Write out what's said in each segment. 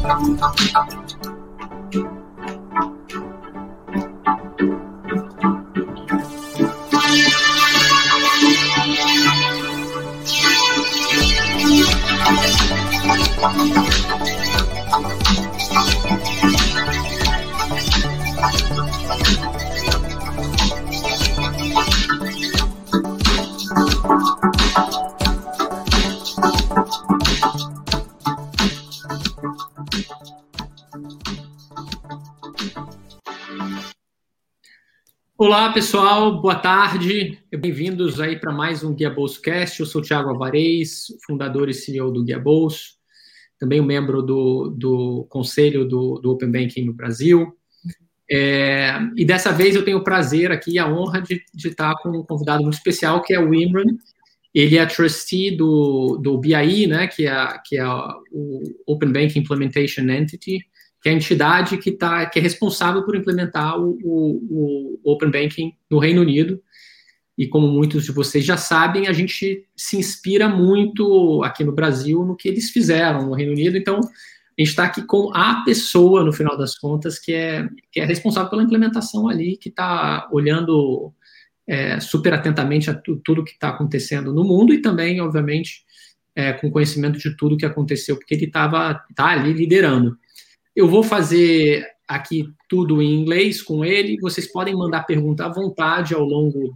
Olá, pessoal, boa tarde, bem-vindos aí para mais um Guia Bolso Cast. Eu sou o Thiago Alvarez, fundador e CEO do Guia Bolso, também um membro do conselho do Open Banking no Brasil. E dessa vez eu tenho o prazer aqui e a honra de estar com um convidado muito especial, que é o Imran. Ele é trustee do BIE, né, que é o Open Banking Implementation Entity, que é a entidade que é responsável por implementar o Open Banking no Reino Unido. E como muitos de vocês já sabem, a gente se inspira muito aqui no Brasil no que eles fizeram no Reino Unido. Então, a gente está aqui com a pessoa, no final das contas, que é responsável pela implementação ali, que está olhando super atentamente a tudo que está acontecendo no mundo e também, obviamente, com conhecimento de tudo que aconteceu, porque ele tá ali liderando. Eu vou fazer aqui tudo em inglês com ele. Vocês podem mandar pergunta à vontade ao longo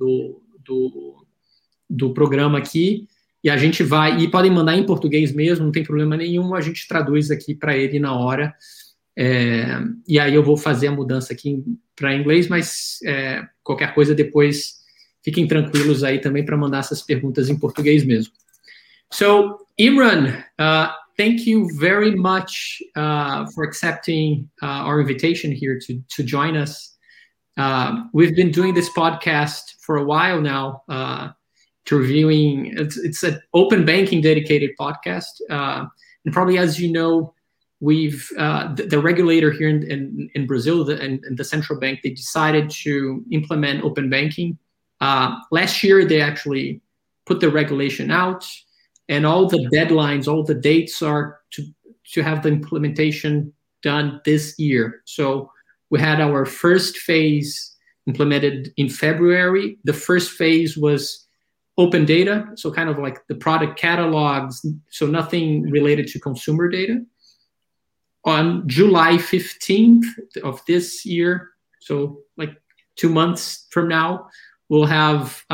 do programa aqui. E a gente vai... E podem mandar em português mesmo, não tem problema nenhum. A gente traduz aqui para ele na hora. E aí eu vou fazer a mudança aqui para inglês, mas qualquer coisa depois fiquem tranquilos aí também para mandar essas perguntas em português mesmo. So, Imran... thank you very much for accepting our invitation here to join us. We've been doing this podcast for a while now, reviewing. It's an open banking dedicated podcast, and probably as you know, we've the regulator here in Brazil and the central bank, they decided to implement open banking. Last year, they actually put the regulation out. And all the deadlines, all the dates are to have the implementation done this year. So we had our first phase implemented in February. The first phase was open data, so kind of like the product catalogs, so nothing related to consumer data. On July 15th of this year, so like 2 months from now, we'll have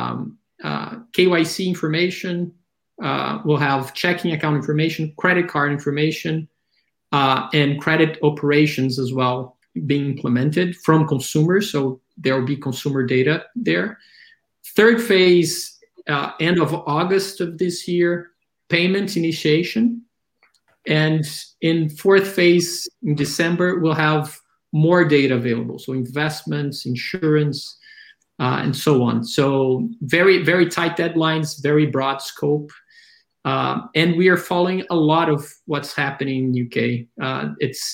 KYC information. We'll have checking account information, credit card information, and credit operations as well being implemented from consumers. So there will be consumer data there. Third phase, end of August of this year, payment initiation. And in fourth phase, in December, we'll have more data available. So investments, insurance, and so on. So very, very tight deadlines, very broad scope. And we are following a lot of what's happening in UK. It's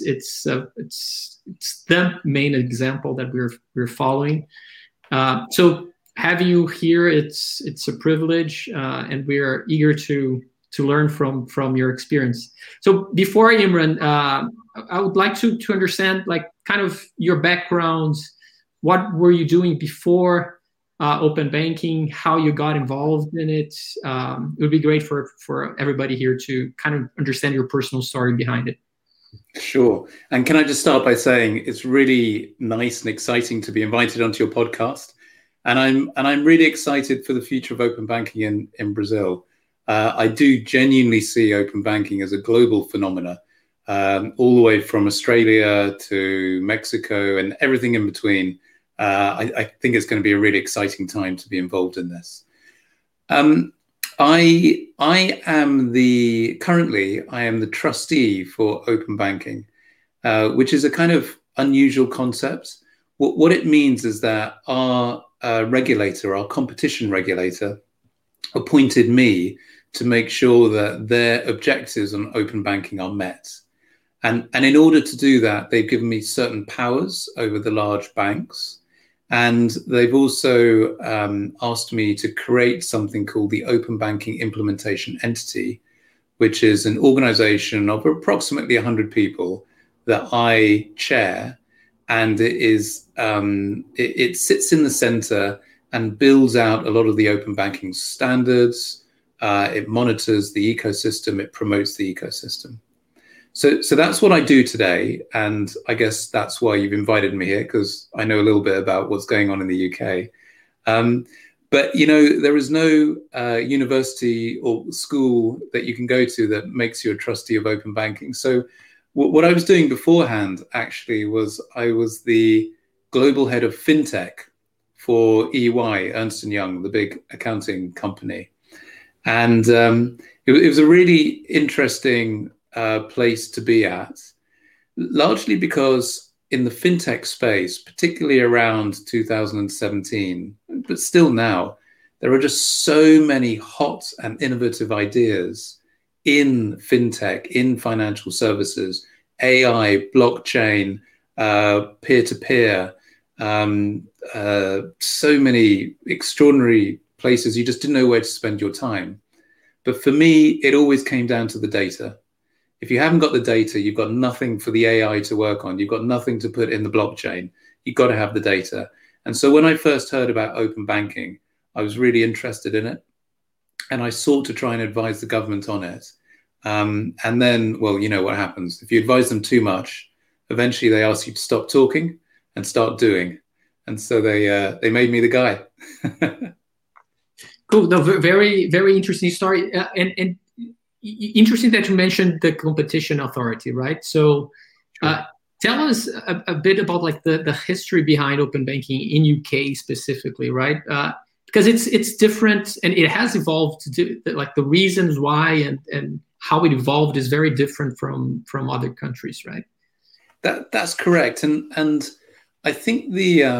the main example that we're following. So having you here, it's a privilege, and we are eager to learn from your experience. So before Imran, I would like to understand like kind of your background. What were you doing before open banking, how you got involved in it? It would be great for everybody here to kind of understand your personal story behind it. Sure. And can I just start by saying it's really nice and exciting to be invited onto your podcast. And I'm really excited for the future of open banking in Brazil. I do genuinely see open banking as a global phenomena, all the way from Australia to Mexico and everything in between. I think it's going to be a really exciting time to be involved in this. I am the trustee for open banking, which is a kind of unusual concept. What it means is that our regulator, our competition regulator, appointed me to make sure that their objectives on open banking are met. And in order to do that, they've given me certain powers over the large banks. And they've also asked me to create something called the Open Banking Implementation Entity, which is an organization of approximately 100 people that I chair. And it sits in the center and builds out a lot of the open banking standards. It monitors the ecosystem. It promotes the ecosystem. So that's what I do today. And I guess that's why you've invited me here, because I know a little bit about what's going on in the UK. But, there is no university or school that you can go to that makes you a trustee of open banking. So what I was doing beforehand, actually, was I was the global head of fintech for EY, Ernst & Young, the big accounting company. And it was a really interesting place to be at, largely because in the fintech space, particularly around 2017, but still now, there are just so many hot and innovative ideas in fintech, in financial services, AI, blockchain, peer-to-peer, so many extraordinary places you just didn't know where to spend your time. But for me, it always came down to the data. If you haven't got the data, you've got nothing for the AI to work on. You've got nothing to put in the blockchain. You've got to have the data. And so when I first heard about open banking, I was really interested in it. And I sought to try and advise the government on it. And then, well, you know what happens. If you advise them too much, eventually they ask you to stop talking and start doing. And so they made me the guy. Cool. No, very, very interesting story. And interesting that you mentioned the competition authority, right? So tell us a bit about like the history behind open banking in UK specifically, right? Because it's different and it has evolved like the reasons why and how it evolved is very different from other countries, right? That's correct. And I think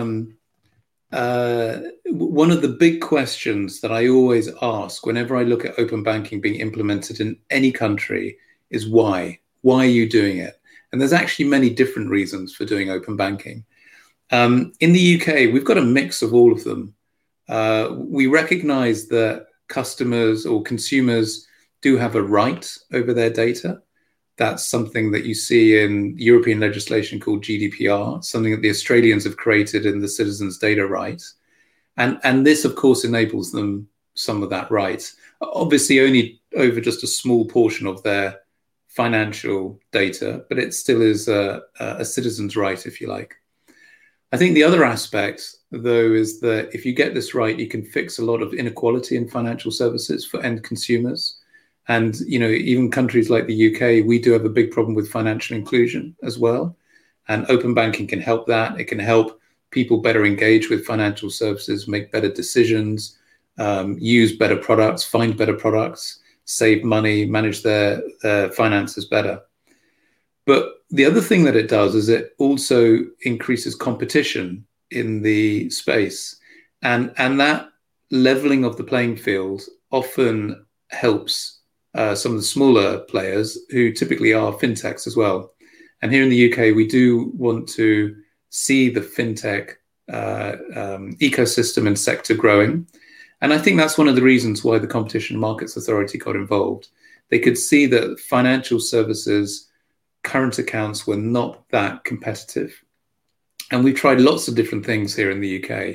one of the big questions that I always ask whenever I look at open banking being implemented in any country is why? Why are you doing it? And there's actually many different reasons for doing open banking. In the UK, we've got a mix of all of them. We recognize that customers or consumers do have a right over their data. That's something that you see in European legislation called GDPR, something that the Australians have created in the Citizens' Data Right. And this, of course, enables them some of that right. Obviously, only over just a small portion of their financial data, but it still is a citizen's right, if you like. I think the other aspect, though, is that if you get this right, you can fix a lot of inequality in financial services for end consumers. And, even countries like the UK, we do have a big problem with financial inclusion as well. And open banking can help that. It can help people better engage with financial services, make better decisions, use better products, find better products, save money, manage their finances better. But the other thing that it does is it also increases competition in the space. And that leveling of the playing field often helps some of the smaller players who typically are fintechs as well. And here in the UK, we do want to see the fintech ecosystem and sector growing. And I think that's one of the reasons why the Competition and Markets Authority got involved. They could see that financial services current accounts were not that competitive. And we've tried lots of different things here in the UK.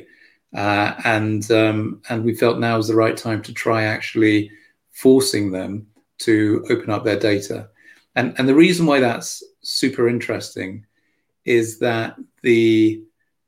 And we felt now was the right time to try actually forcing them to open up their data. And the reason why that's super interesting is that the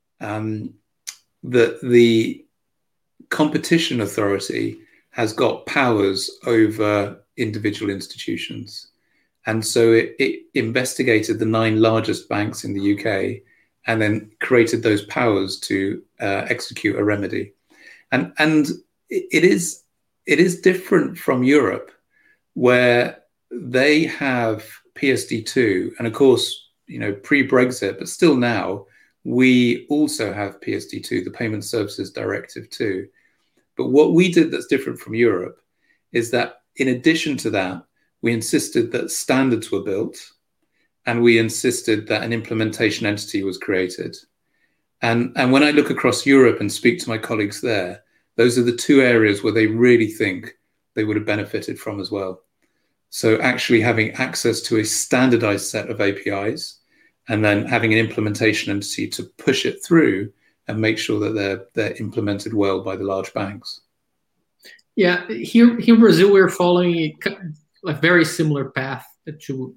Competition Authority has got powers over individual institutions. And so it investigated the 9 largest banks in the UK and then created those powers to execute a remedy. And it is different from Europe, where they have PSD2. And of course, pre-Brexit, but still now, we also have PSD2, the Payment Services Directive 2. But what we did that's different from Europe is that in addition to that, we insisted that standards were built, and we insisted that an implementation entity was created. And when I look across Europe and speak to my colleagues there, those are the 2 areas where they really think they would have benefited from as well. So actually having access to a standardized set of APIs and then having an implementation entity to push it through and make sure that they're implemented well by the large banks. Yeah, here in Brazil, we're following a very similar path to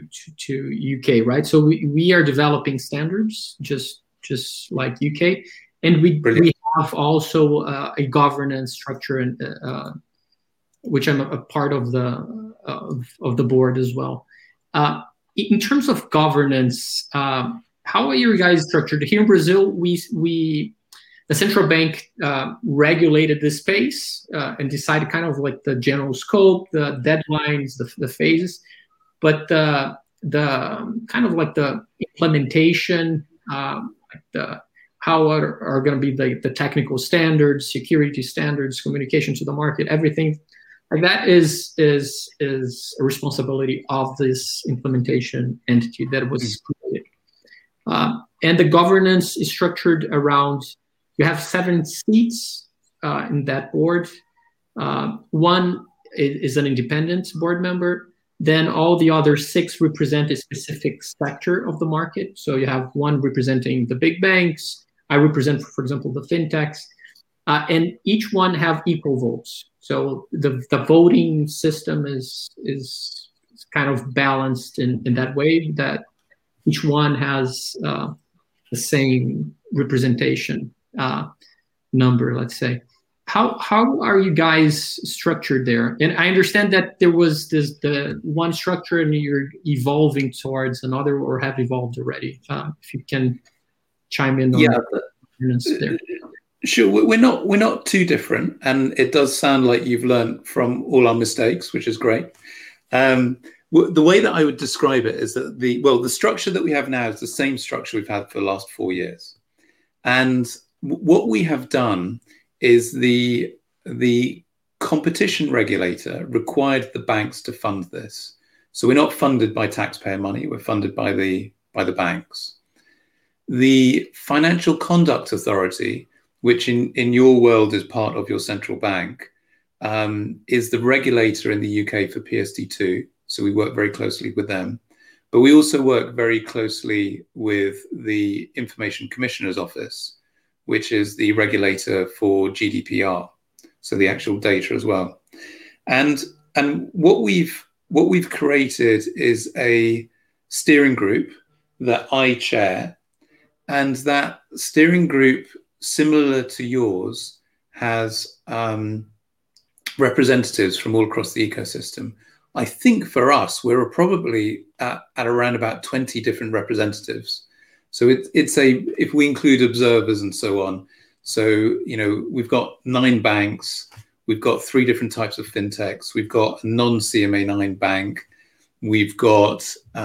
UK, right? So we are developing standards just like UK, and we have also a governance structure, and which I'm a part of the board as well. In terms of governance, how are you guys structured? Here in Brazil, the central bank regulated the space and decided kind of like the general scope, the deadlines, the phases, but the kind of like the implementation, how are going to be the technical standards, security standards, communication to the market, everything like that is a responsibility of this implementation entity that was created. And the governance is structured around, you have 7 seats in that board. One is an independent board member. Then all the other 6 represent a specific sector of the market. So you have one representing the big banks. I represent, for example, the fintechs. And each one have equal votes. So the voting system is kind of balanced in that way, that each one has the same representation number, let's say. How are you guys structured there? And I understand that there was the one structure and you're evolving towards another, or have evolved already. If you can chime in on that there. Sure, we're not too different, and it does sound like you've learned from all our mistakes, which is great. The way that I would describe it is that the structure that we have now is the same structure we've had for the last 4 years, and what we have done is the competition regulator required the banks to fund this. So we're not funded by taxpayer money; we're funded by the banks. The Financial Conduct Authority, which in your world is part of your central bank, is the regulator in the UK for PSD2. So we work very closely with them. But we also work very closely with the Information Commissioner's Office, which is the regulator for GDPR, so the actual data as well. And what we've created is a steering group that I chair, and that steering group, similar to yours, has representatives from all across the ecosystem. I think for us, we're probably at around about 20 different representatives. So it's if we include observers and so on. So, we've got 9 banks, we've got 3 different types of fintechs, we've got a non-CMA9 bank, we've got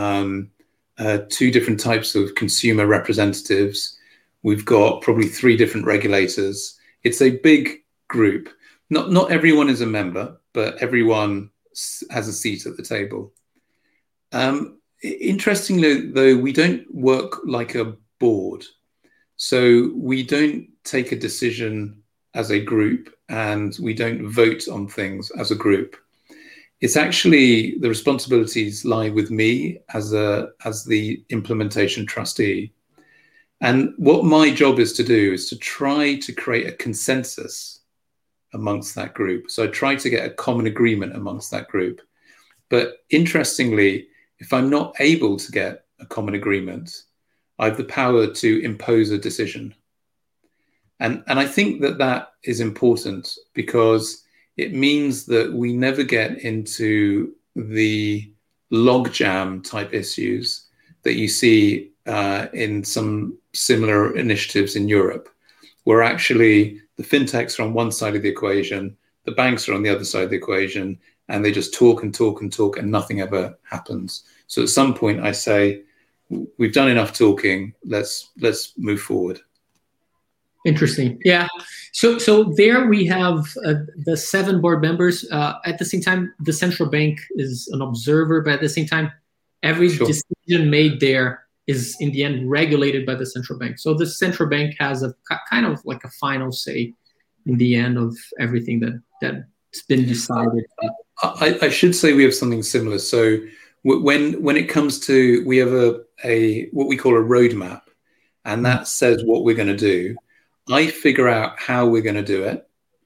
2 different types of consumer representatives. We've got probably 3 different regulators. It's a big group. Not everyone is a member, but everyone has a seat at the table. Interestingly, though, we don't work like a board. So we don't take a decision as a group, and we don't vote on things as a group. It's actually, the responsibilities lie with me as the implementation trustee. And what my job is to do is to try to create a consensus amongst that group. So I try to get a common agreement amongst that group. But interestingly, if I'm not able to get a common agreement, I have the power to impose a decision. And I think that is important, because it means that we never get into the logjam type issues that you see in some similar initiatives in Europe, where actually the fintechs are on one side of the equation, the banks are on the other side of the equation, and they just talk and talk and talk, and nothing ever happens. So at some point I say, we've done enough talking, let's move forward. Interesting. Yeah. So there we have the 7 board members. At the same time, the central bank is an observer, but at the same time, every decision made there is in the end regulated by the central bank. So the central bank has a kind of like a final say in the end of everything that's been decided. I should say we have something similar. So when it comes to, we have a what we call a roadmap, and that says what we're going to do. I figure out how we're going to do it.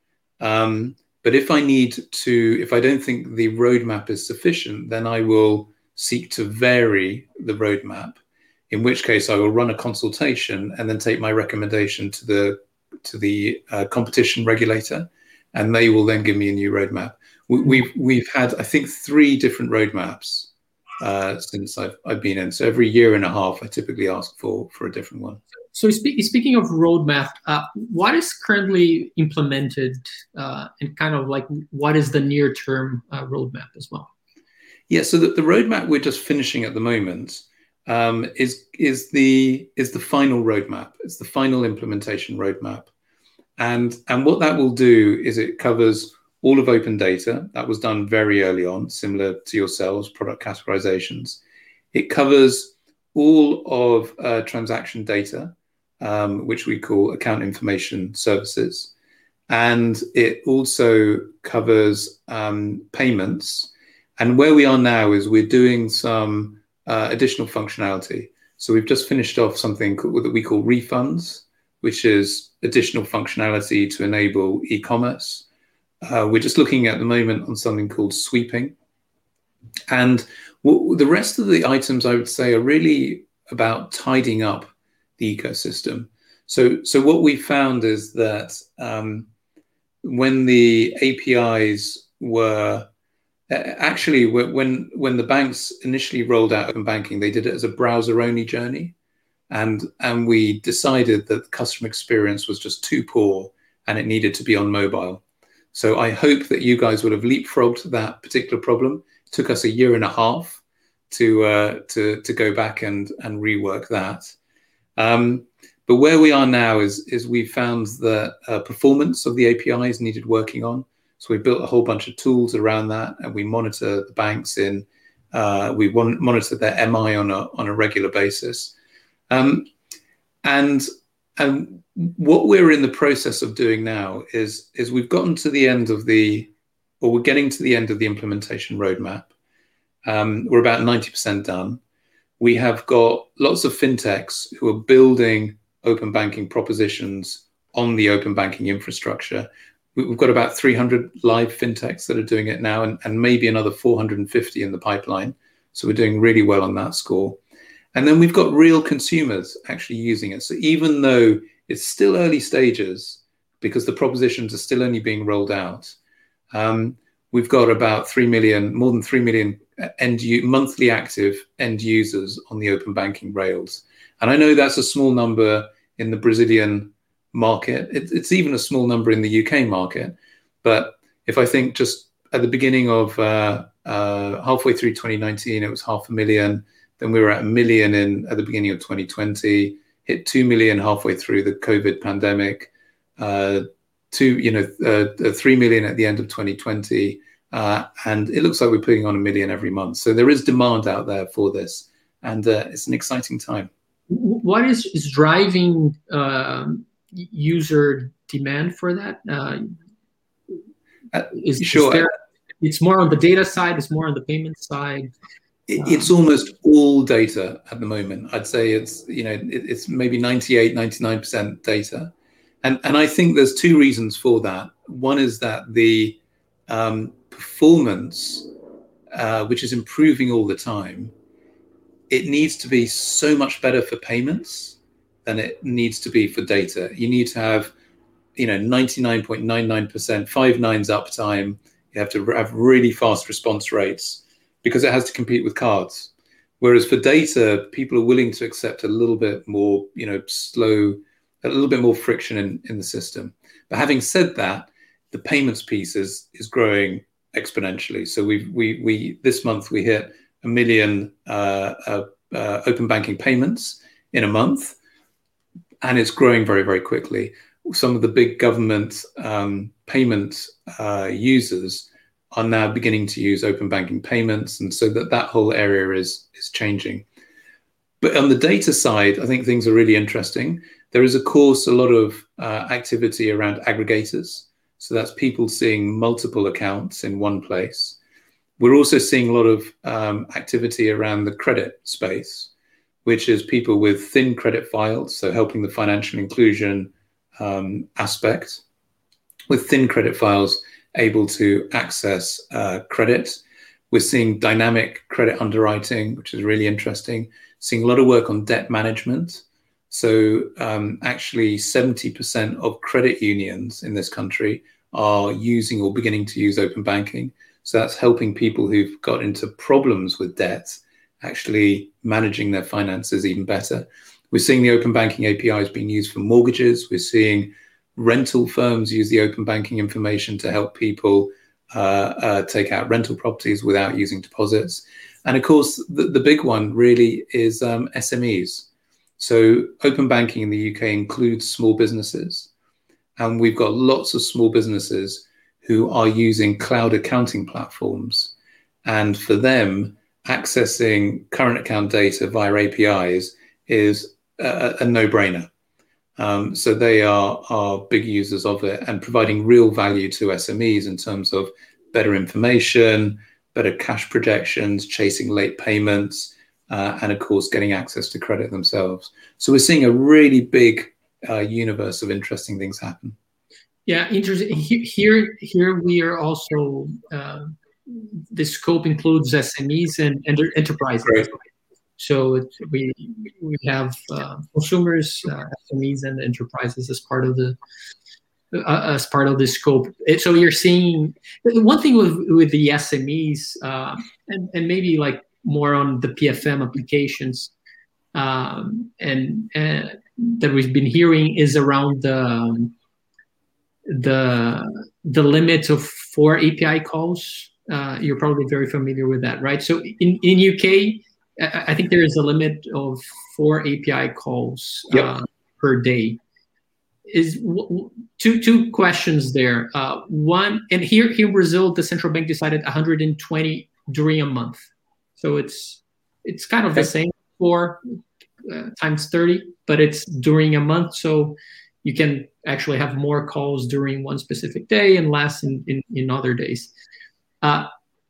But if I don't think the roadmap is sufficient, then I will seek to vary the roadmap, in which case I will run a consultation and then take my recommendation to the competition regulator, and they will then give me a new roadmap. We've had, I think, 3 different roadmaps since I've been in. So every year and a half, I typically ask for a different one. So speaking of roadmap, what is currently implemented, and kind of like what is the near-term roadmap as well? Yeah, so the roadmap we're just finishing at the moment is the final roadmap. It's the final implementation roadmap, and what that will do is it covers all of open data. That was done very early on, similar to yourselves, product categorizations. It covers all of transaction data, which we call account information services. And it also covers payments. And where we are now is we're doing some additional functionality. So we've just finished off something that we call refunds, which is additional functionality to enable e-commerce. We're just looking at the moment on something called sweeping. And the rest of the items, I would say, are really about tidying up the ecosystem. So what we found is that when the APIs were actually, when the banks initially rolled out open banking, they did it as a browser-only journey, and we decided that the customer experience was just too poor and it needed to be on mobile. So I hope that you guys would have leapfrogged that particular problem. It took us a year and a half to go back and rework that. But where we are now is we found that performance of the APIs needed working on. So we built a whole bunch of tools around that, and we monitor the banks we monitor their MI on a regular basis. And what we're in the process of doing now is we've gotten to the end of we're getting to the end of the implementation roadmap. We're about 90% done. We have got lots of fintechs who are building open banking propositions on the open banking infrastructure. We've got about 300 live fintechs that are doing it now, and maybe another 450 in the pipeline. So we're doing really well on that score. And then we've got real consumers actually using it. So even though it's still early stages, because the propositions are still only being rolled out, we've got about more than 3 million monthly active end users on the open banking rails. And I know that's a small number in the Brazilian market. It's even a small number in the UK market. But if I think just at the beginning of halfway through 2019, it was 500,000. Then we were at 1 million at the beginning of 2020, hit 2 million halfway through the COVID pandemic, 3 million at the end of 2020. And it looks like we're putting on 1 million every month. So there is demand out there for this, and it's an exciting time. What is driving user demand for that? Sure. It's more on the data side, it's more on the payment side. It's almost all data at the moment. I'd say it's maybe 98, 99% data. And I think there's 2 reasons for that. One is that the performance, which is improving all the time, it needs to be so much better for payments than it needs to be for data. You need to have 99.99%, 5 nines uptime. You have to have really fast response rates, because it has to compete with cards. Whereas for data, people are willing to accept a little bit more, slow, a little bit more friction in the system. But having said that, the payments piece is growing exponentially. So we this month we hit 1 million open banking payments in a month, and it's growing very, very quickly. Some of the big government payment users are now beginning to use open banking payments, and so that whole area is changing. But on the data side, I think things are really interesting. There is, of course, a lot of activity around aggregators. So that's people seeing multiple accounts in one place. We're also seeing a lot of activity around the credit space, which is people with thin credit files, so helping the financial inclusion aspect, with thin credit files able to access credit. We're seeing dynamic credit underwriting, which is really interesting. Seeing a lot of work on debt management. So actually 70% of credit unions in this country are using or beginning to use open banking. So that's helping people who've got into problems with debt actually managing their finances even better. We're seeing the open banking APIs being used for mortgages. We're seeing rental firms use the open banking information to help people take out rental properties without using deposits. And of course, the big one really is SMEs. So open banking in the UK includes small businesses. And we've got lots of small businesses who are using cloud accounting platforms. And for them, accessing current account data via APIs is a no-brainer. So they are big users of it and providing real value to SMEs in terms of better information, better cash projections, chasing late payments, and of course, getting access to credit themselves. So we're seeing a really big universe of interesting things happen. Yeah, interesting. Here we are also, the scope includes SMEs and enterprises. Great. So we have consumers, SMEs, and enterprises as part of the scope. So you're seeing one thing with the SMEs and maybe like more on the PFM applications and that we've been hearing is around the limit of 4 API calls. You're probably very familiar with that, right? So in UK, I think there is a limit of 4 API calls per day. Is two questions there. One, and here in Brazil, the central bank decided 120 during a month. So it's kind of the same, 4 times 30, but it's during a month. So you can actually have more calls during one specific day and less in other days. And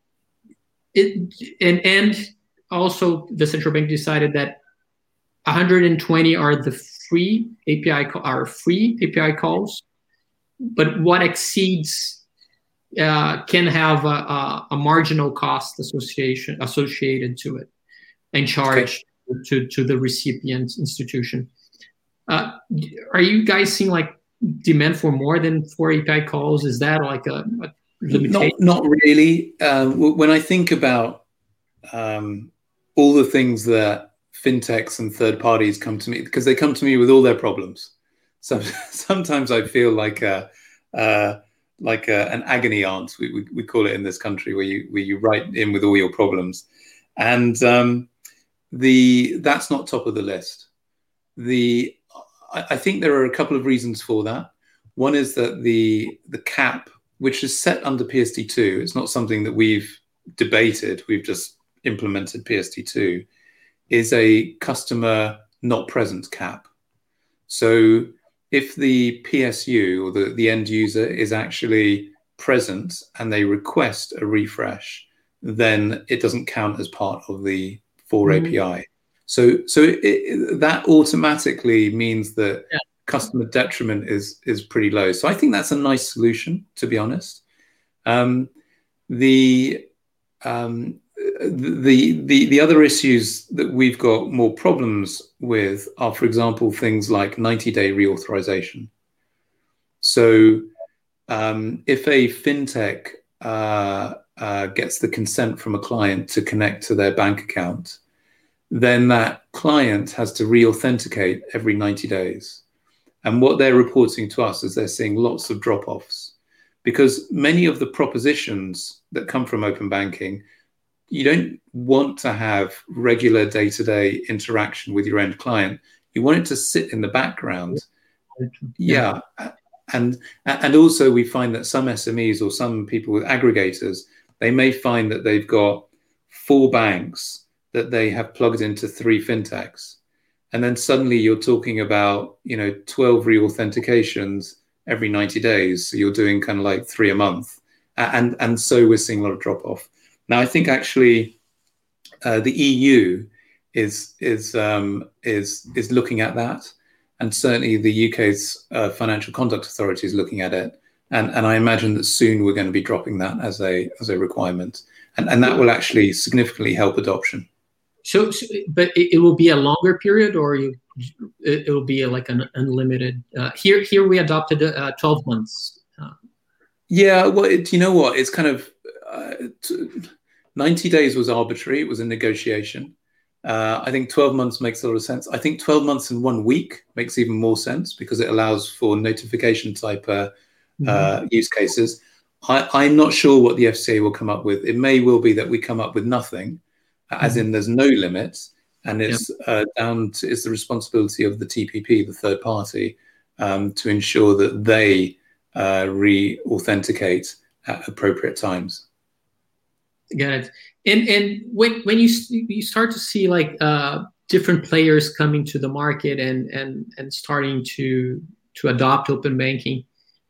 also the central bank decided that 120 are the free API calls, but what exceeds can have a marginal cost associated to it and charged to the recipient institution. Are you guys seeing like demand for more than 4 API calls? Is that like a limitation? Not really. When I think about all the things that fintechs and third parties come to me, because they come to me with all their problems. So sometimes I feel like an agony aunt, we call it in this country, where you write in with all your problems, and that's not top of the list. I think there are a couple of reasons for that. One is that the cap, which is set under PSD2, it's not something that we've debated. We've just implemented PSD2, is a customer not present cap. So if the PSU or the end user is actually present and they request a refresh, then it doesn't count as part of the 4 API. So that automatically means that customer detriment is pretty low. So I think that's a nice solution, to be honest. The other issues that we've got more problems with are, for example, things like 90-day reauthorization. So if a fintech gets the consent from a client to connect to their bank account, then that client has to re-authenticate every 90 days. And what they're reporting to us is they're seeing lots of drop-offs, because many of the propositions that come from open banking, you don't want to have regular day-to-day interaction with your end client. You want it to sit in the background. Yeah. And also we find that some SMEs or some people with aggregators, they may find that they've got 4 banks that they have plugged into 3 fintechs. And then suddenly you're talking about, 12 re-authentications every 90 days. So you're doing kind of like 3 a month. And so we're seeing a lot of drop off. Now, I think actually the EU is looking at that, and certainly the UK's Financial Conduct Authority is looking at it, and I imagine that soon we're going to be dropping that as a requirement, and that will actually significantly help adoption. So but it will be a longer period, or it will be like an unlimited. Here we adopted 12 months. Yeah, well, you know what? It's kind of 90 days was arbitrary. It was a negotiation. I think 12 months makes a lot of sense. I think 12 months and 1 week makes even more sense because it allows for notification type use cases. I'm not sure what the FCA will come up with. It may well be that we come up with nothing, as in there's no limits, and it's it's the responsibility of the TPP, the third party, to ensure that they re-authenticate at appropriate times. Got it. And when you start to see like different players coming to the market and starting to adopt open banking,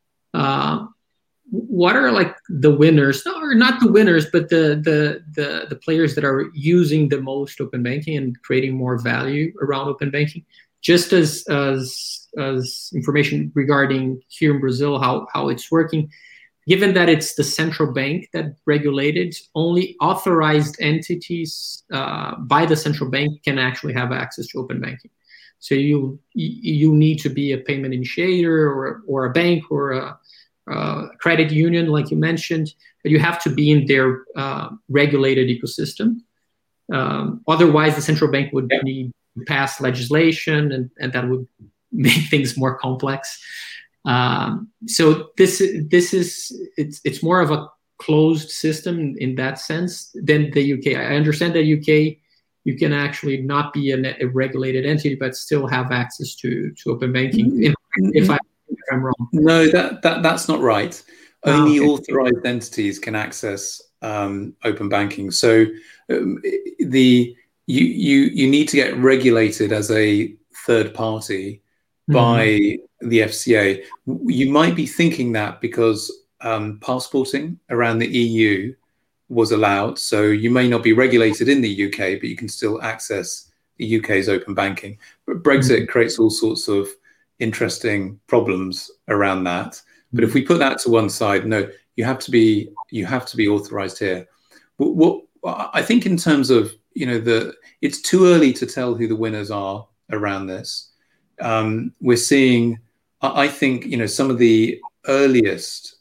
what are like the winners, or not the winners, but the players that are using the most open banking and creating more value around open banking? Just as information regarding here in Brazil, how it's working, given that it's the central bank that regulated, only authorized entities by the central bank can actually have access to open banking. So you need to be a payment initiator or a bank or a credit union, like you mentioned, but you have to be in their regulated ecosystem. Otherwise, the central bank would need to pass legislation, and that would make things more complex. So it's more of a closed system in that sense than the UK. I understand that UK, you can actually not be a regulated entity, but still have access to open banking. If I'm wrong. No, that's not right. Only authorized entities can access open banking. So you need to get regulated as a third party by the FCA. You might be thinking that because passporting around the EU was allowed, so you may not be regulated in the UK, but you can still access the UK's open banking. But Brexit creates all sorts of interesting problems around that. But if we put that to one side, no, you have to be authorized here. What I think in terms of it's too early to tell who the winners are around this. We're seeing, I think, some of the earliest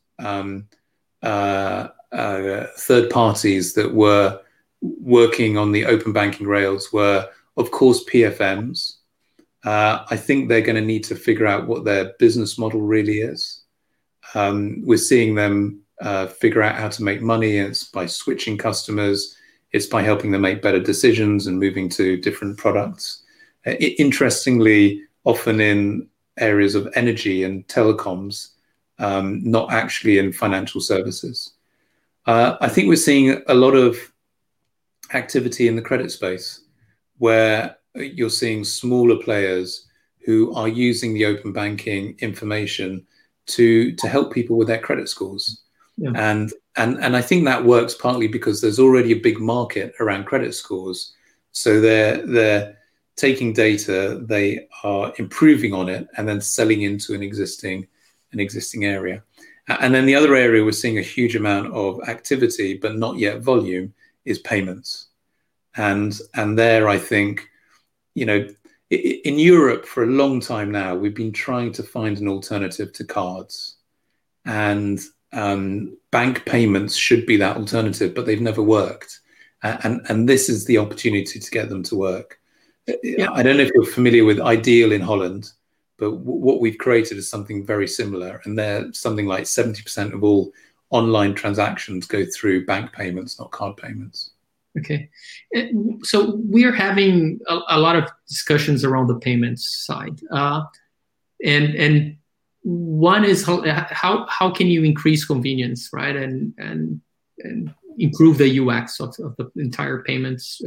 third parties that were working on the open banking rails were, of course, PFMs. I think they're going to need to figure out what their business model really is. We're seeing them figure out how to make money. It's by switching customers. It's by helping them make better decisions and moving to different products. Interestingly, often in areas of energy and telecoms, not actually in financial services. I think we're seeing a lot of activity in the credit space where you're seeing smaller players who are using the open banking information to help people with their credit scores. Yeah. And I think that works partly because there's already a big market around credit scores. So they're taking data, they are improving on it, and then selling into an existing area. And then the other area we're seeing a huge amount of activity, but not yet volume, is payments. And there, I think, in Europe for a long time now, we've been trying to find an alternative to cards. And bank payments should be that alternative, but they've never worked. And this is the opportunity to get them to work. Yeah. I don't know if you're familiar with Ideal in Holland, but what we've created is something very similar. And they're something like 70% of all online transactions go through bank payments, not card payments. Okay. So we're having a lot of discussions around the payments side. And one is how can you increase convenience, right? And improve the UX of the entire payments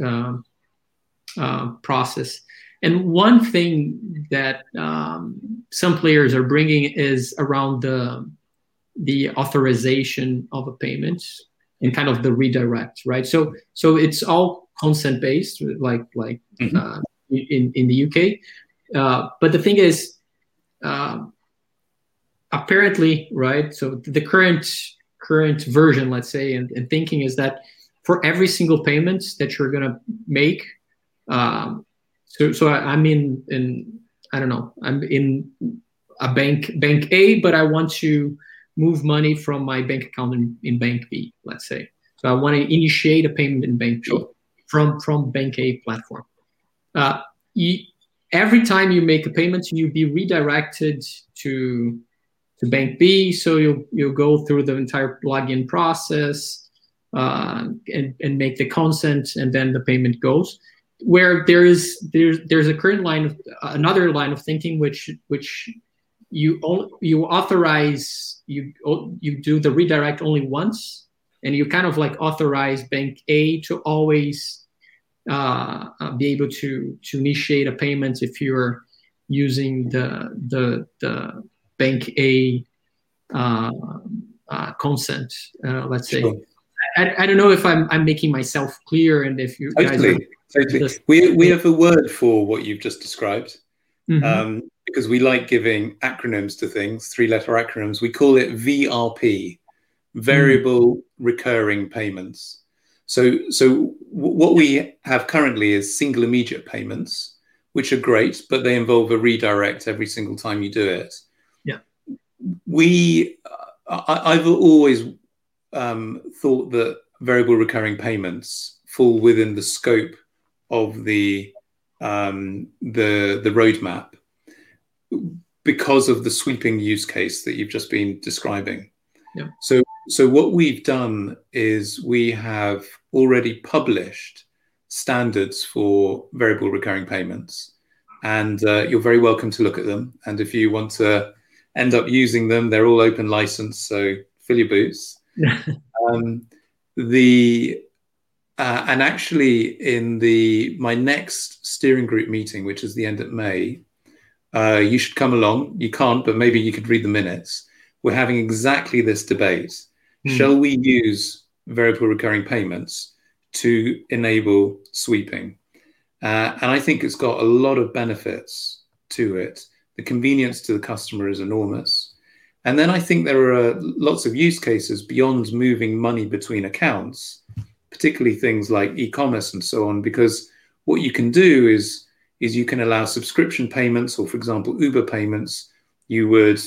process. And one thing that some players are bringing is around the authorization of a payment. and kind of the redirect, right? So it's all consent based, like in the UK. But the thing is, apparently, right? So the current version, let's say, and thinking is that for every single payment that you're gonna make, I'm in I don't know, I'm in a bank A, but I want to move money from my bank account in bank B, let's say. So I want to initiate a payment in bank B from bank A platform. Every time you make a payment, you'll be redirected to bank B. So you'll go through the entire login process and make the consent, and then the payment goes. Where there's a current another line of thinking which you authorize, you do the redirect only once, and you kind of like authorize bank A to always be able to initiate a payment if you're using the bank A consent, let's say. Sure. I don't know if I'm making myself clear, and if you totally. We have a word for what you've just described. Mm-hmm. Because we like giving acronyms to things, 3-letter acronyms. We call it VRP, variable recurring payments. So what we have currently is single immediate payments, which are great, but they involve a redirect every single time you do it. Yeah. I've always thought that variable recurring payments fall within the scope of the roadmap, because of the sweeping use case that you've just been describing. Yeah. So what we've done is we have already published standards for variable recurring payments, and you're very welcome to look at them. And if you want to end up using them, they're all open license, so fill your boots. And actually, in my next steering group meeting, which is the end of May, you should come along. You can't, but maybe you could read the minutes. We're having exactly this debate. Shall we use variable recurring payments to enable sweeping? And I think it's got a lot of benefits to it. The convenience to the customer is enormous. And then I think there are lots of use cases beyond moving money between accounts, particularly things like e-commerce and so on, because what you can do is you can allow subscription payments, or for example, Uber payments. You would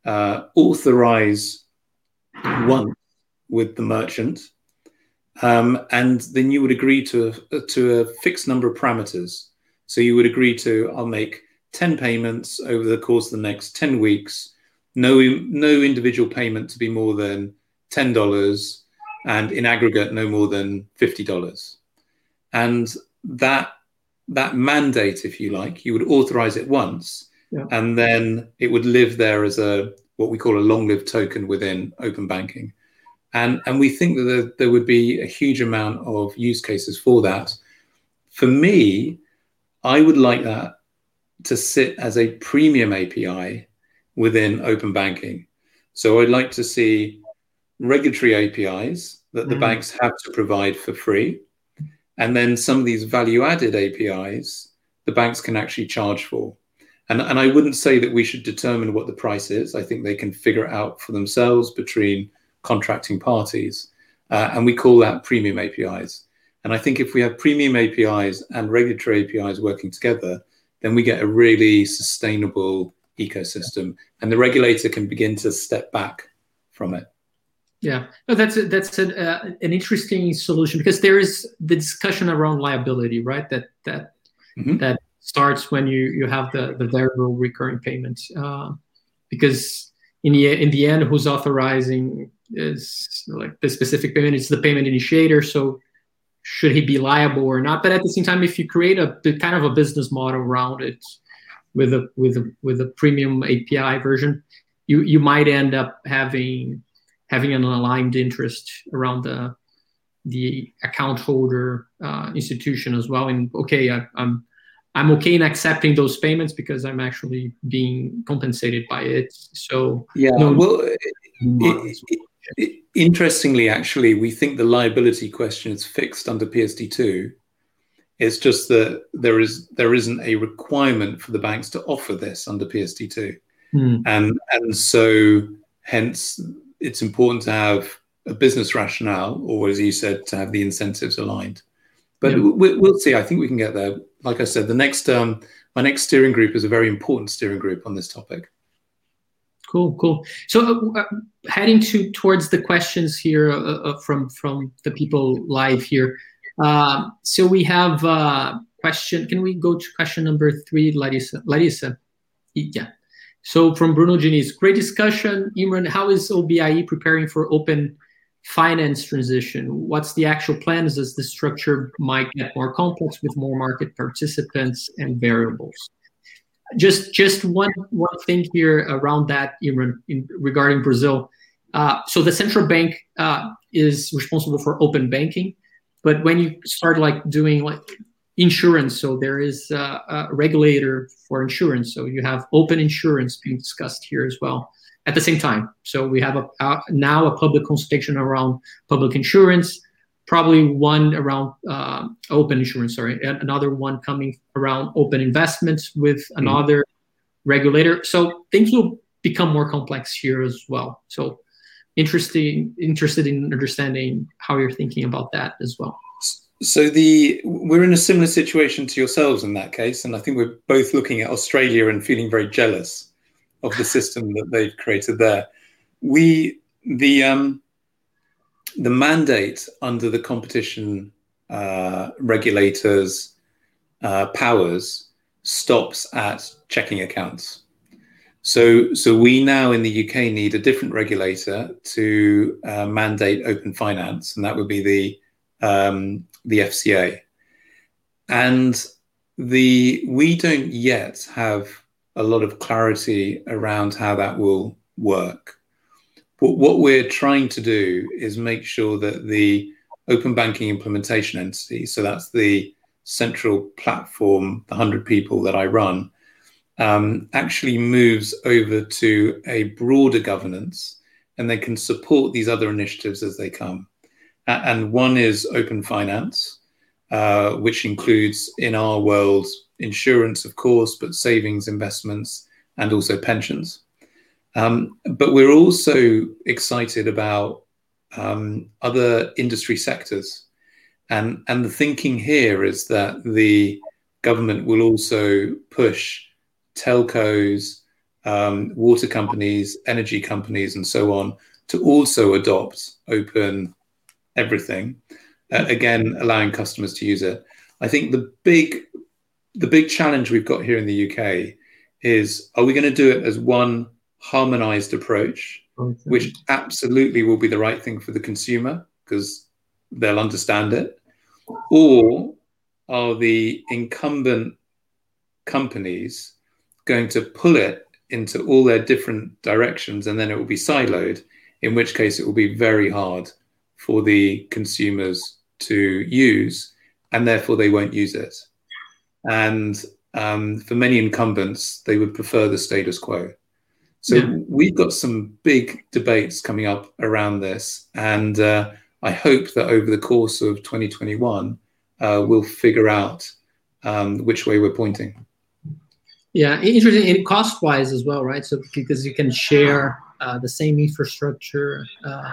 authorize once with the merchant, and then you would agree to a fixed number of parameters. So you would agree to, I'll make 10 payments over the course of the next 10 weeks, no individual payment to be more than $10, and in aggregate, no more than $50. And that mandate, if you like, you would authorize it once, and then it would live there as what we call a long-lived token within open banking. And we think that there would be a huge amount of use cases for that. For me, I would like that to sit as a premium API within open banking. So I'd like to see regulatory APIs that the banks have to provide for free. And then some of these value-added APIs, the banks can actually charge for. And I wouldn't say that we should determine what the price is. I think they can figure it out for themselves between contracting parties. And we call that premium APIs. And I think if we have premium APIs and regulatory APIs working together, then we get a really sustainable ecosystem, and the regulator can begin to step back from it. Yeah, no, that's an interesting solution, because there is the discussion around liability, right? That starts when you have the variable recurring payments, because in the end, who's authorizing is like the specific payment. It's the payment initiator. So should he be liable or not? But at the same time, if you create a kind of a business model around it with a premium API version, you might end up having an aligned interest around the account holder institution as well. And okay, I'm okay in accepting those payments because I'm actually being compensated by it. So yeah, Interestingly, actually, we think the liability question is fixed under PSD2. It's just that there isn't a requirement for the banks to offer this under PSD2. And so hence it's important to have a business rationale, or as you said, to have the incentives aligned. But we'll see. I think we can get there. Like I said, my next steering group is a very important steering group on this topic. Cool. So heading towards the questions here from the people live here. So we have a question. Can we go to question number 3, Larissa? Yeah. So from Bruno Diniz, great discussion. Imran, how is OBIE preparing for open finance transition? What's the actual plans as the structure might get more complex with more market participants and variables? Just one thing here around that, Imran, regarding Brazil. So the central bank is responsible for open banking, but when you start doing insurance, so there is a regulator for insurance. So you have open insurance being discussed here as well at the same time. So we have now a public consultation around public insurance, probably one around open insurance, and another one coming around open investments with another regulator. So things will become more complex here as well. So interested in understanding how you're thinking about that as well. So we're in a similar situation to yourselves in that case, and I think we're both looking at Australia and feeling very jealous of the system that they've created there. The mandate under the competition regulators' powers stops at checking accounts. So we now in the UK need a different regulator to mandate open finance, and that would be the FCA. And we don't yet have a lot of clarity around how that will work. But what we're trying to do is make sure that the open banking implementation entity, so that's the central platform, the 100 people that I run, actually moves over to a broader governance, and they can support these other initiatives as they come. And one is open finance, which includes, in our world, insurance, of course, but savings, investments, and also pensions. But we're also excited about other industry sectors. And the thinking here is that the government will also push telcos, water companies, energy companies, and so on, to also adopt open everything, again, allowing customers to use it. I think the big challenge we've got here in the UK is, are we going to do it as one harmonized approach, which absolutely will be the right thing for the consumer because they'll understand it, or are the incumbent companies going to pull it into all their different directions and then it will be siloed, in which case it will be very hard for the consumers to use, and therefore they won't use it. And for many incumbents, they would prefer the status quo. So we've got some big debates coming up around this, and I hope that over the course of 2021, we'll figure out which way we're pointing. Yeah, interesting, and cost-wise as well, right? So because you can share the same infrastructure.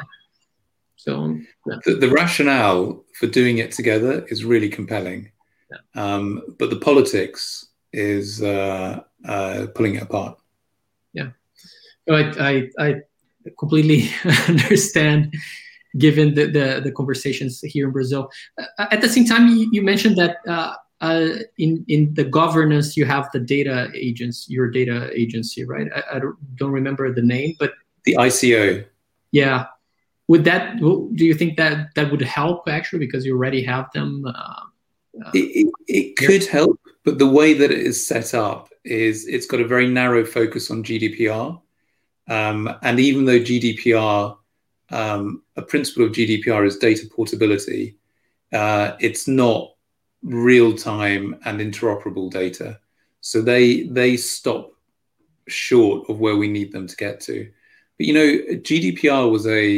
The rationale for doing it together is really compelling, but the politics is pulling it apart. Yeah, so I completely understand, given the conversations here in Brazil. At the same time, you mentioned that in the governance you have the data agents, your data agency, right? I don't remember the name, but the ICO. Yeah. Do you think that would help actually, because you already have them? It could help, but the way that it is set up is it's got a very narrow focus on GDPR. And even though GDPR, a principle of GDPR is data portability, it's not real-time and interoperable data. So they stop short of where we need them to get to. But you know, GDPR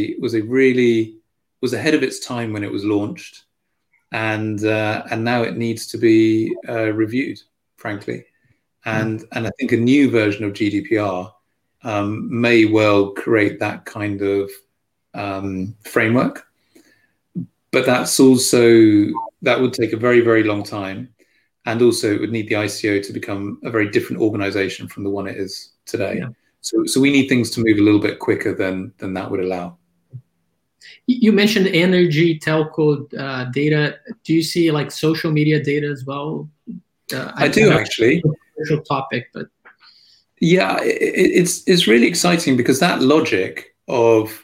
was ahead of its time when it was launched, and now it needs to be reviewed, frankly. And I think a new version of GDPR may well create that kind of framework. But that would take a very, very long time. And also it would need the ICO to become a very different organization from the one it is today. Yeah. So we need things to move a little bit quicker than that would allow. You mentioned energy, telco data. Do you see like social media data as well? I do actually. Social topic, but yeah, it's really exciting because that logic of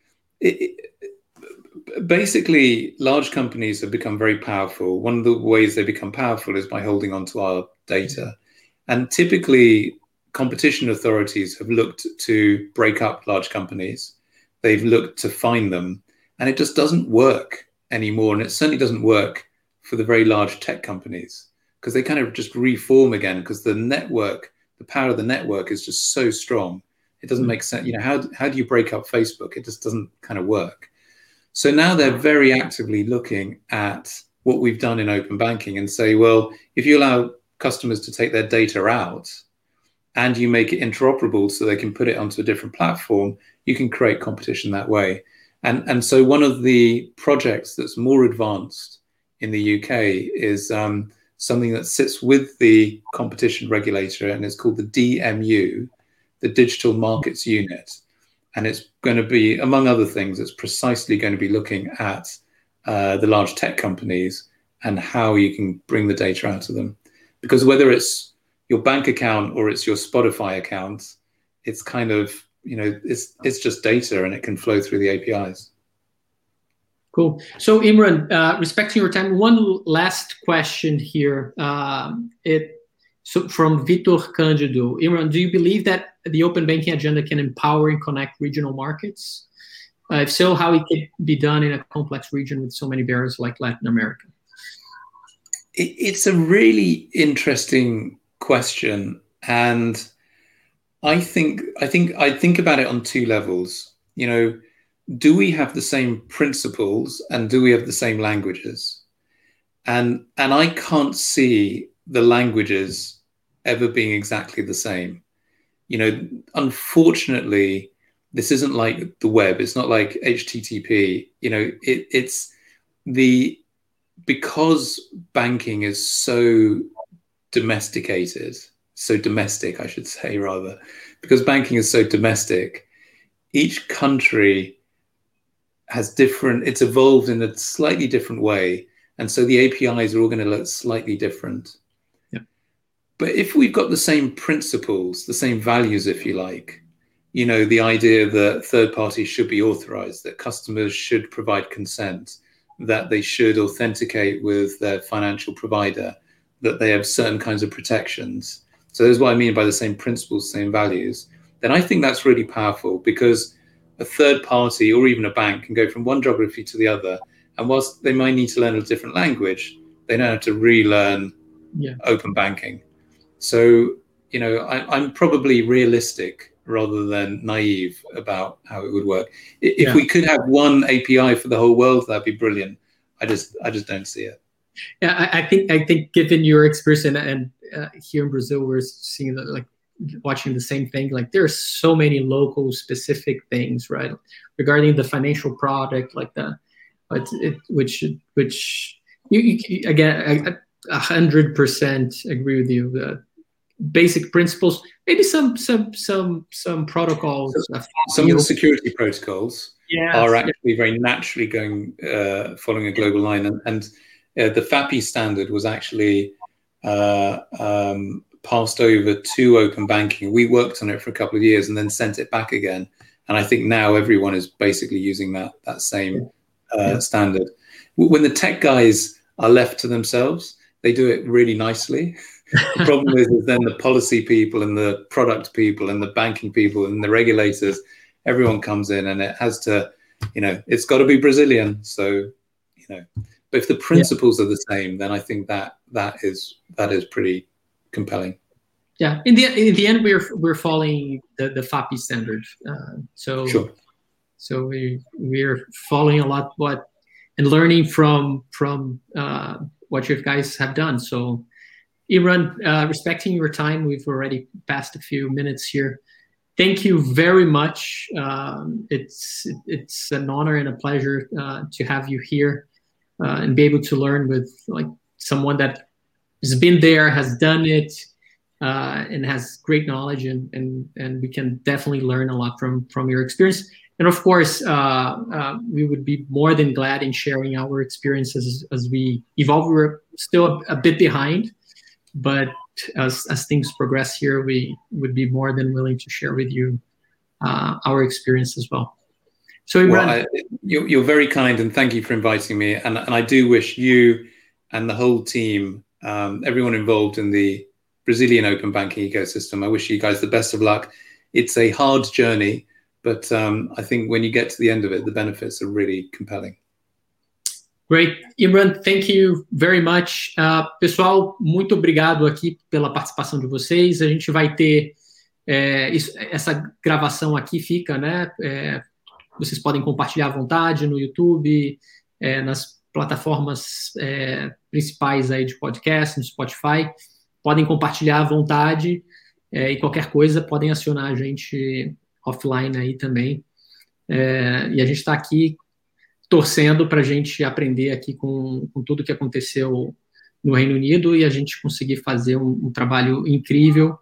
basically large companies have become very powerful. One of the ways they become powerful is by holding onto our data, and typically competition authorities have looked to break up large companies. They've looked to fine them, and it just doesn't work anymore. And it certainly doesn't work for the very large tech companies because they kind of just reform again because the network, the power of the network is just so strong. It doesn't make sense. You know, how do you break up Facebook? It just doesn't kind of work. So now they're very actively looking at what we've done in open banking and say, well, if you allow customers to take their data out and you make it interoperable so they can put it onto a different platform, you can create competition that way. And so one of the projects that's more advanced in the UK is something that sits with the competition regulator, and it's called the DMU, the Digital Markets Unit. And it's going to be, among other things, it's precisely going to be looking at the large tech companies and how you can bring the data out of them. Because whether it's your bank account or it's your Spotify account, it's kind of, you know, it's just data and it can flow through the APIs. Cool. So Imran, respecting your time, one last question here. So from Vitor Cândido, Imran, do you believe that the open banking agenda can empower and connect regional markets? If so, how it can be done in a complex region with so many barriers like Latin America? It's a really interesting question, and I think about it on two levels. You know, do we have the same principles and do we have the same languages? And I can't see the languages ever being exactly the same. You know, unfortunately, this isn't like the web. It's not like HTTP. You know, because banking is so domesticated, so domestic, I should say, rather, because banking is so domestic, each country has it's evolved in a slightly different way. And so the APIs are all going to look slightly different. Yeah. But if we've got the same principles, the same values, if you like, you know, the idea that third parties should be authorized, that customers should provide consent, that they should authenticate with their financial provider, that they have certain kinds of protections. So that's what I mean by the same principles, same values. Then I think that's really powerful because a third party or even a bank can go from one geography to the other. And whilst they might need to learn a different language, they don't have to relearn open banking. So, you know, I'm probably realistic rather than naive about how it would work. If we could have one API for the whole world, that'd be brilliant. I just don't see it. Yeah, I think given your experience and here in Brazil, we're seeing that, like, watching the same thing. Like, there are so many local specific things, right, regarding the financial product, like which you again, 100% agree with you. The basic principles, maybe some protocols. Some of the security protocols are actually very naturally following a global line, and the FAPI standard was actually passed over to open banking. We worked on it for a couple of years and then sent it back again. And I think now everyone is basically using that same standard. When the tech guys are left to themselves, they do it really nicely. The problem is then the policy people and the product people and the banking people and the regulators, everyone comes in and it has to, you know, it's got to be Brazilian. So, you know, but if the principles are the same, then I think that is pretty compelling. Yeah, in the end, we're following the FAPI standard. Sure. So we're following a lot and learning from what you guys have done. So, Imran, respecting your time, we've already passed a few minutes here. Thank you very much. It's an honor and a pleasure to have you here and be able to learn with like someone that has been there, has done it, and has great knowledge, and we can definitely learn a lot from your experience. And of course, we would be more than glad in sharing our experiences as we evolve. We're still a bit behind, but as things progress here, we would be more than willing to share with you our experience as well. So, Imran, you're very kind, and thank you for inviting me. And I do wish you and the whole team, everyone involved in the Brazilian open banking ecosystem, I wish you guys the best of luck. It's a hard journey, but I think when you get to the end of it, the benefits are really compelling. Great. Imran, thank you very much. Pessoal, muito obrigado aqui pela participação de vocês. A gente vai ter essa gravação aqui, fica, né? Vocês podem compartilhar à vontade no YouTube, nas plataformas principais aí de podcast, no Spotify. Podem compartilhar à vontade e qualquer coisa podem acionar a gente offline aí também. E a gente está aqui torcendo para a gente aprender aqui com tudo que aconteceu no Reino Unido e a gente conseguir fazer um trabalho incrível.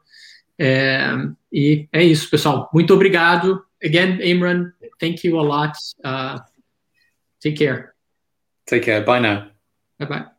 E é isso, pessoal. Muito obrigado. Again, Imran, thank you a lot. Take care. Take care. Bye now. Bye-bye.